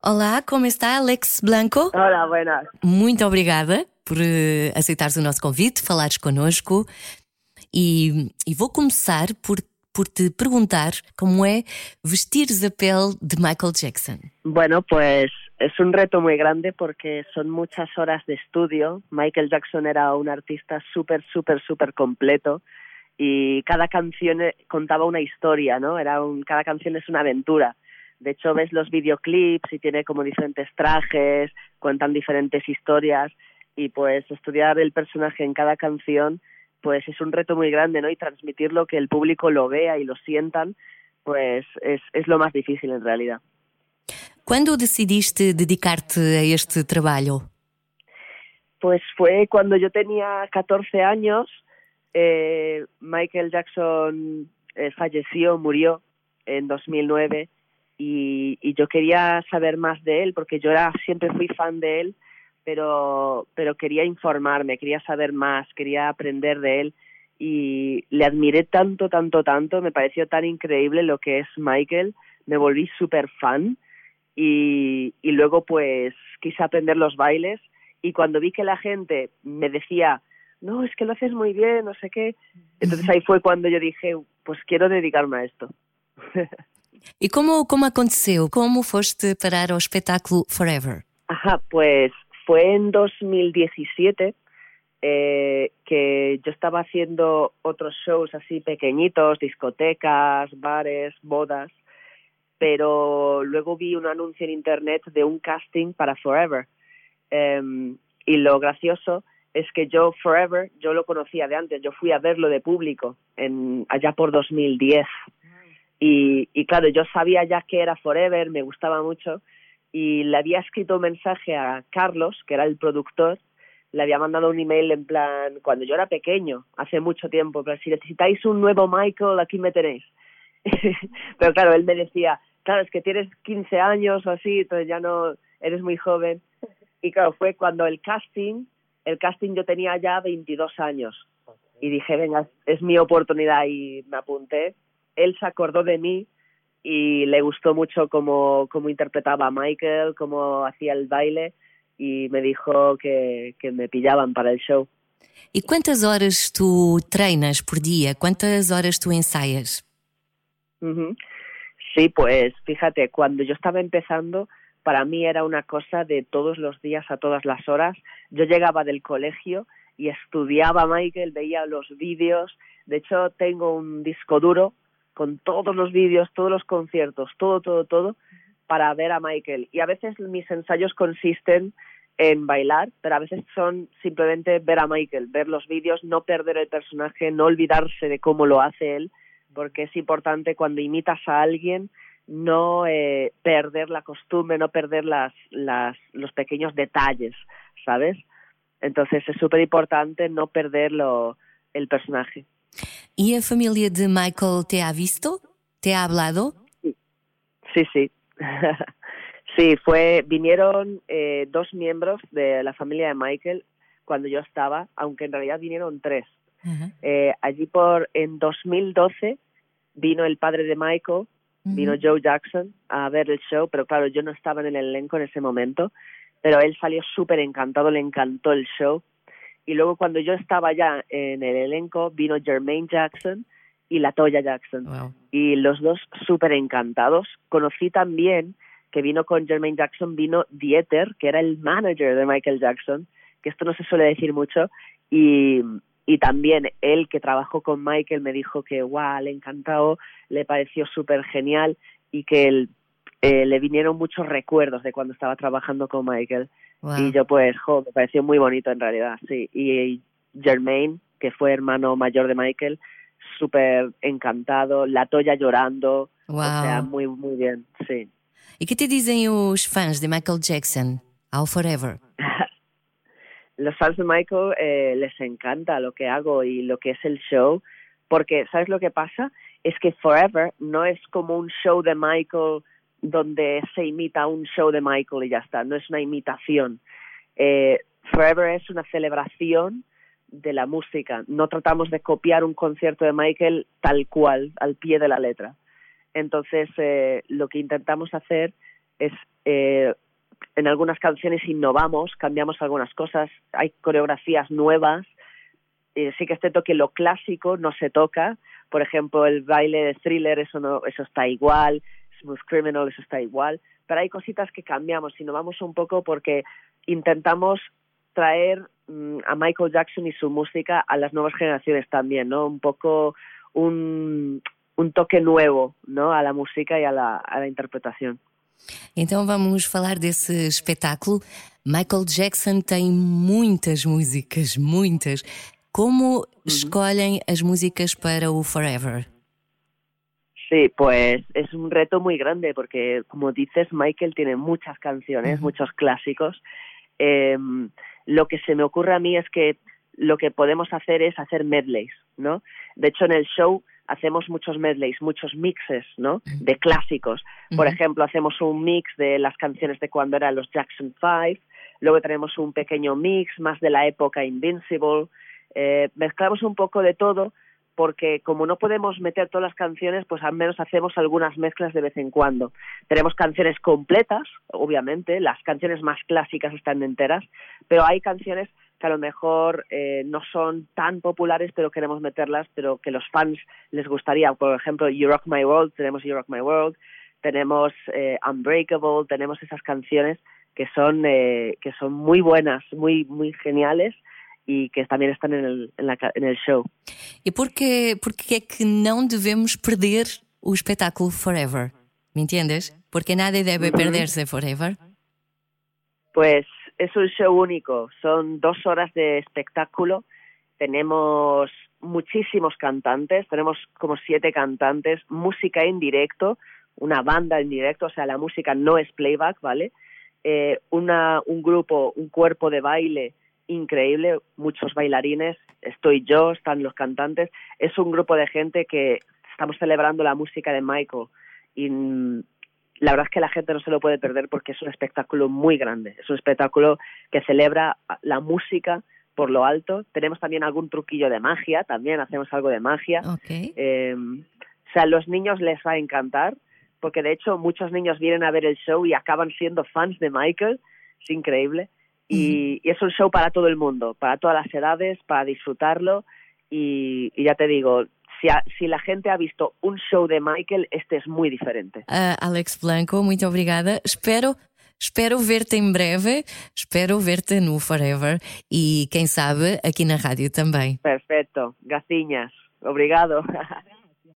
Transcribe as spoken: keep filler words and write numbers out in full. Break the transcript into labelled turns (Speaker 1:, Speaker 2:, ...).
Speaker 1: Olá, como está, Alex Blanco?
Speaker 2: Hola, buenas.
Speaker 1: Muito obrigada por uh, aceitares o nosso convite, falares connosco e, e vou começar por, por te perguntar como é vestires a pele de Michael Jackson.
Speaker 2: Bueno, pues es un reto muy grande porque son muchas horas de estudio. Michael Jackson era un artista súper, súper, súper completo y cada canción contaba una historia, ¿no? Era un, cada canción es una aventura. De hecho, ves los videoclips y tiene como diferentes trajes, cuentan diferentes historias y pues estudiar el personaje en cada canción pues es un reto muy grande, ¿no? Y transmitirlo, que el público lo vea y lo sientan, pues es, es lo más difícil en realidad.
Speaker 1: ¿Cuándo decidiste dedicarte a este trabajo?
Speaker 2: Pues fue cuando yo tenía catorce años, eh, Michael Jackson eh, falleció, murió en dos mil nueve. Y, y yo quería saber más de él porque yo era, siempre fui fan de él, pero, pero quería informarme, quería saber más, quería aprender de él y le admiré tanto, tanto, tanto, me pareció tan increíble lo que es Michael, me volví súper fan y, y luego pues quise aprender los bailes y cuando vi que la gente me decía, no, es que lo haces muy bien, no sé qué, entonces ahí fue cuando yo dije, pues quiero dedicarme a esto.
Speaker 1: E como, como aconteceu? Como foste parar ao espetáculo Forever?
Speaker 2: Ajá, pues fue en dos mil diecisiete eh, que yo estaba haciendo otros shows así pequeñitos, discotecas, bares, bodas, pero luego vi un anuncio en internet de un casting para Forever. Eh, y lo gracioso es que yo Forever, yo lo conocía de antes, yo fui a verlo de público en, allá por dos mil diez. Y, y claro, yo sabía ya que era Forever, me gustaba mucho, y le había escrito un mensaje a Carlos, que era el productor, le había mandado un email en plan, cuando yo era pequeño, hace mucho tiempo, pero si necesitáis un nuevo Michael, aquí me tenéis. Pero claro, él me decía, claro, es que tienes quince años o así, entonces ya no, eres muy joven. Y claro, fue cuando el casting, el casting yo tenía ya veintidós años, y dije, venga, es mi oportunidad, y me apunté. Él se acordó de mí y le gustó mucho cómo, cómo interpretaba a Michael, cómo hacía el baile y me dijo que, que me pillaban para el show.
Speaker 1: E quantas horas tu treinas por dia? Quantas horas tu ensaias?
Speaker 2: Uh-huh. Sí, pues fíjate, cuando yo estaba empezando, para mí era una cosa de todos los días a todas las horas. Yo llegaba del colegio y estudiaba a Michael, veía los vídeos. De hecho, tengo un disco duro con todos los vídeos, todos los conciertos, todo, todo, todo, para ver a Michael. Y a veces mis ensayos consisten en bailar, pero a veces son simplemente ver a Michael, ver los vídeos, no perder el personaje, no olvidarse de cómo lo hace él, porque es importante cuando imitas a alguien no eh, perder la costumbre, no perder las, las, los pequeños detalles, ¿sabes? Entonces es súper importante no perderlo, el personaje.
Speaker 1: ¿Y a familia de Michael te ha visto? ¿Te ha hablado?
Speaker 2: Sí, sí. Sí, sí fue, vinieron eh, dos miembros de la familia de Michael cuando yo estaba, aunque en realidad vinieron tres. Uh-huh. Eh, allí por, en dos mil doce vino el padre de Michael, uh-huh. vino Joe Jackson a ver el show, pero claro, yo no estaba en el elenco en ese momento, pero él salió súper encantado, le encantó el show. Y luego cuando yo estaba ya en el elenco, vino Jermaine Jackson y LaToya Jackson. Wow. Y los dos súper encantados. Conocí también que vino con Jermaine Jackson, vino Dieter, que era el manager de Michael Jackson, que esto no se suele decir mucho. Y, y también él, que trabajó con Michael, me dijo que wow, le encantó, le pareció súper genial y que él, eh, le vinieron muchos recuerdos de cuando estaba trabajando con Michael. Wow. Y yo pues, jo, me pareció muy bonito en realidad, sí. Y Jermaine, que fue hermano mayor de Michael, súper encantado, LaToya llorando, wow. O sea, muy, muy bien, sí.
Speaker 1: ¿Y qué te dicen los fans de Michael Jackson ao Forever?
Speaker 2: Los fans de Michael eh, les encanta lo que hago y lo que es el show, porque ¿sabes lo que pasa? Es que Forever no es como un show de Michael donde se imita un show de Michael y ya está, no es una imitación. Eh, Forever es una celebración de la música, no tratamos de copiar un concierto de Michael tal cual, al pie de la letra. Entonces, eh, lo que intentamos hacer es eh, en algunas canciones innovamos, cambiamos algunas cosas, hay coreografías nuevas. Eh, sí que es cierto que lo clásico no se toca. Por ejemplo, el baile de Thriller, eso no, eso está igual. Smooth Criminal, eso está igual. Pero hay cositas que cambiamos, innovamos un poco porque intentamos traer mmm, a Michael Jackson y su música a las nuevas generaciones también, ¿no? Un poco un, un toque nuevo, ¿no? A la música y a la, a la interpretación.
Speaker 1: Então vamos falar desse espetáculo. Michael Jackson tem muitas músicas, muitas. Como uh-huh. escolhem as músicas para o Forever?
Speaker 2: Sí, pues es un reto muy grande porque, como dices, Michael tiene muchas canciones, uh-huh. muchos clásicos. Eh, lo que se me ocurre a mí es que lo que podemos hacer es hacer medleys, ¿no? De hecho, en el show hacemos muchos medleys, muchos mixes, ¿no? De clásicos. Por uh-huh. ejemplo, hacemos un mix de las canciones de cuando eran los Jackson Five, luego tenemos un pequeño mix más de la época Invincible. Eh, mezclamos un poco de todo porque como no podemos meter todas las canciones, pues al menos hacemos algunas mezclas de vez en cuando. Tenemos canciones completas, obviamente, las canciones más clásicas están enteras, pero hay canciones que a lo mejor eh, no son tan populares, pero queremos meterlas, pero que los fans les gustaría. Por ejemplo, You Rock My World, tenemos You Rock My World, tenemos eh, Unbreakable, tenemos esas canciones que son eh, que son muy buenas, muy muy geniales e que também estão en el, en la, en el show.
Speaker 1: E porquê, porquê é que não devemos perder o espetáculo Forever? ¿Me entiendes? Porque nadie debe uh-huh. perderse Forever.
Speaker 2: Pues es un show único, son dos horas de espectáculo, tenemos muchísimos cantantes, tenemos como siete cantantes, música en directo, una banda en directo, o sea, la música no es playback, ¿vale? Eh, una, un grupo, un cuerpo de baile increíble, muchos bailarines, estoy yo, están los cantantes, es un grupo de gente que estamos celebrando la música de Michael y la verdad es que la gente no se lo puede perder porque es un espectáculo muy grande, es un espectáculo que celebra la música por lo alto. Tenemos también algún truquillo de magia, también hacemos algo de magia.
Speaker 1: Okay.
Speaker 2: Eh, o sea, a los niños les va a encantar porque de hecho muchos niños vienen a ver el show y acaban siendo fans de Michael, es increíble. Y, y es un show para todo el mundo, para todas las edades, para disfrutarlo y, y ya te digo, si, a, si la gente ha visto un show de Michael, este es muy diferente.
Speaker 1: Uh, Alex Blanco, muito obrigada. Espero, espero ver-te em breve, espero ver-te no Forever e quem sabe aqui na rádio também.
Speaker 2: Perfecto, gaciñas, obrigado.